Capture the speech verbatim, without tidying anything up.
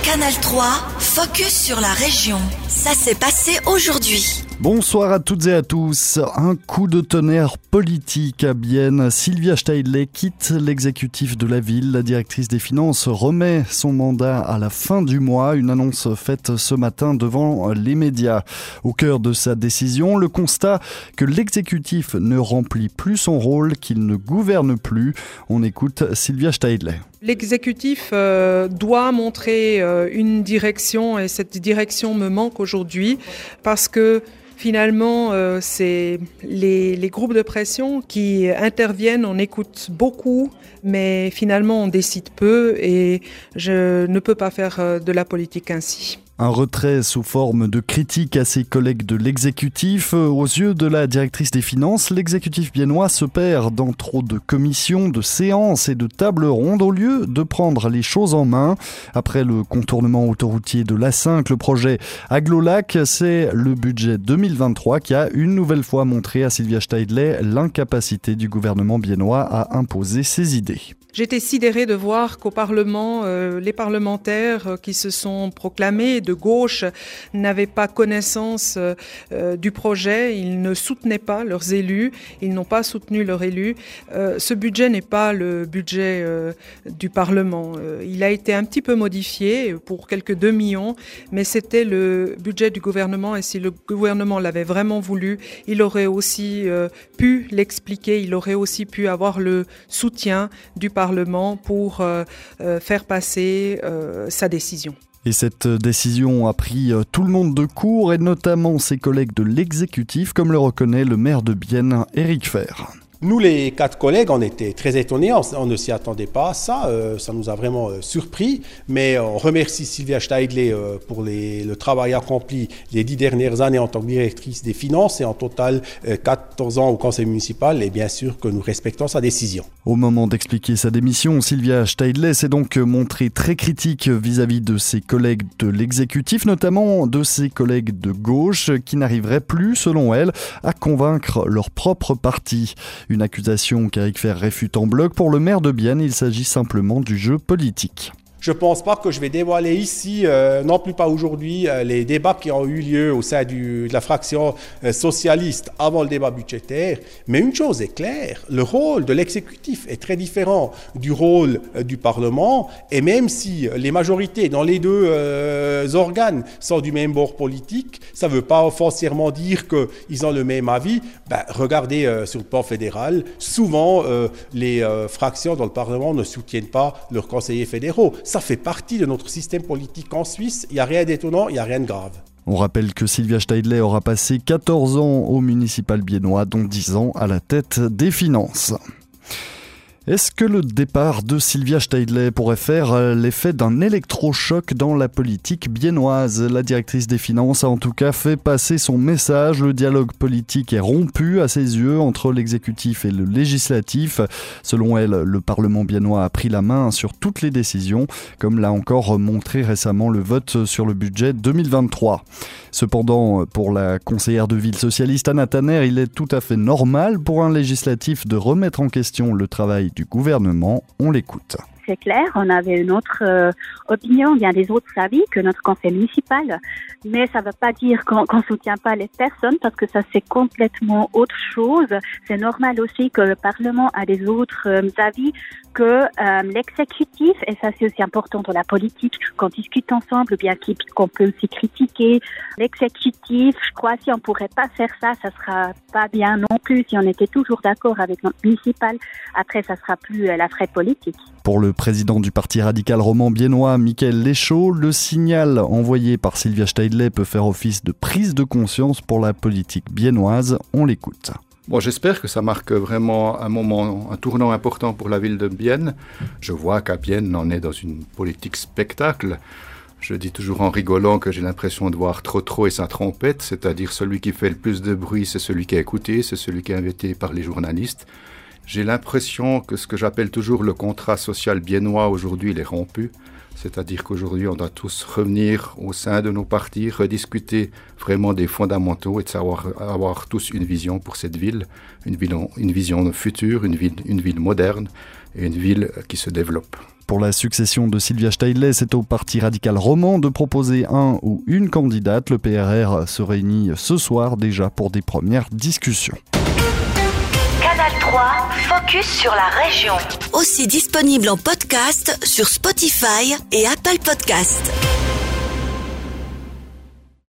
Canal trois, focus sur la région. Ça s'est passé aujourd'hui. Bonsoir à toutes et à tous. Un coup de tonnerre politique à Bienne. Sylvia Steidle quitte l'exécutif de la ville. La directrice des finances remet son mandat à la fin du mois. Une annonce faite ce matin devant les médias. Au cœur de sa décision, le constat que l'exécutif ne remplit plus son rôle, qu'il ne gouverne plus. On écoute Sylvia Steidle. L'exécutif euh, doit montrer euh, une direction et cette direction me manque aujourd'hui parce que Finalement, euh, c'est les, les groupes de pression qui interviennent, on écoute beaucoup, mais finalement on décide peu et je ne peux pas faire de la politique ainsi. Un retrait sous forme de critique à ses collègues de l'exécutif. Aux yeux de la directrice des finances, l'exécutif biennois se perd dans trop de commissions, de séances et de tables rondes au lieu de prendre les choses en main. Après le contournement autoroutier de l'A cinq, le projet Aglo-Lac, c'est le budget deux mille vingt-trois qui a une nouvelle fois montré à Sylvia Steidle l'incapacité du gouvernement biennois à imposer ses idées. J'étais sidérée de voir qu'au Parlement, euh, les parlementaires qui se sont proclamés de gauche n'avaient pas connaissance euh, du projet, ils ne soutenaient pas leurs élus, ils n'ont pas soutenu leurs élus. Euh, ce budget n'est pas le budget euh, du Parlement. Euh, il a été un petit peu modifié pour quelques deux millions, mais c'était le budget du gouvernement et si le gouvernement l'avait vraiment voulu, il aurait aussi euh, pu l'expliquer, il aurait aussi pu avoir le soutien du Parlement pour euh, euh, faire passer euh, sa décision. Et cette décision a pris tout le monde de court et notamment ses collègues de l'exécutif, comme le reconnaît le maire de Bienne, Éric Fer. Nous, les quatre collègues, on était très étonnés, on, on ne s'y attendait pas à ça, euh, ça nous a vraiment euh, surpris, mais on remercie Sylvia Steidle euh, pour les, le travail accompli les dix dernières années en tant que directrice des finances et en total euh, quatorze ans au conseil municipal et bien sûr que nous respectons sa décision. Au moment d'expliquer sa démission, Sylvia Steidle s'est donc montrée très critique vis-à-vis de ses collègues de l'exécutif, notamment de ses collègues de gauche qui n'arriveraient plus, selon elle, à convaincre leur propre parti. Une accusation qu'Éric Fer réfute en bloc. Pour le maire de Bienne, il s'agit simplement du jeu politique. Je ne pense pas que je vais dévoiler ici, euh, non plus pas aujourd'hui, euh, les débats qui ont eu lieu au sein du, de la fraction euh, socialiste avant le débat budgétaire. Mais une chose est claire, le rôle de l'exécutif est très différent du rôle euh, du Parlement. Et même si les majorités dans les deux euh, organes sont du même bord politique, ça ne veut pas foncièrement dire qu'ils ont le même avis. Ben, regardez euh, sur le plan fédéral, souvent euh, les euh, fractions dans le Parlement ne soutiennent pas leurs conseillers fédéraux. Ça fait partie de notre système politique en Suisse. Il n'y a rien d'étonnant, il n'y a rien de grave. On rappelle que Sylvia Steidle aura passé quatorze ans au municipal biennois, dont dix ans à la tête des finances. Est-ce que le départ de Sylvia Steidle pourrait faire l'effet d'un électrochoc dans la politique biennoise ? La directrice des finances a en tout cas fait passer son message. Le dialogue politique est rompu à ses yeux entre l'exécutif et le législatif. Selon elle, le Parlement biennois a pris la main sur toutes les décisions, comme l'a encore montré récemment le vote sur le budget deux mille vingt-trois. Cependant, pour la conseillère de ville socialiste Anna Tanner, il est tout à fait normal pour un législatif de remettre en question le travail du gouvernement. On l'écoute. C'est clair, on avait une autre euh, opinion, bien des autres avis que notre conseil municipal, mais ça ne veut pas dire qu'on ne soutient pas les personnes parce que ça c'est complètement autre chose. C'est normal aussi que le Parlement a des autres euh, avis que euh, l'exécutif, et ça c'est aussi important dans la politique, qu'on discute ensemble, bien qu'on peut aussi critiquer l'exécutif. Je crois que si on ne pourrait pas faire ça, ça ne sera pas bien non plus. Si on était toujours d'accord avec notre municipal, après ça ne sera plus euh, la vraie politique. Pour le président du parti radical roman biennois, Michael Léchaud, le signal envoyé par Sylvia Steidle peut faire office de prise de conscience pour la politique biennoise. On l'écoute. Bon, j'espère que ça marque vraiment un moment, un tournant important pour la ville de Bienne. Je vois qu'à Bienne, on est dans une politique spectacle. Je dis toujours en rigolant que j'ai l'impression de voir trop trop et sa trompette, c'est-à-dire celui qui fait le plus de bruit, c'est celui qui est écouté, c'est celui qui est invité par les journalistes. J'ai l'impression que ce que j'appelle toujours le contrat social biennois aujourd'hui, il est rompu. C'est-à-dire qu'aujourd'hui, on doit tous revenir au sein de nos partis, rediscuter vraiment des fondamentaux et de savoir avoir tous une vision pour cette ville, une ville, une vision future, une ville, une ville moderne et une ville qui se développe. Pour la succession de Sylvia Steidley, c'est au Parti radical roman de proposer un ou une candidate. Le P R R se réunit ce soir déjà pour des premières discussions. Canal trois, focus sur la région. Aussi disponible en podcast sur Spotify et Apple Podcasts.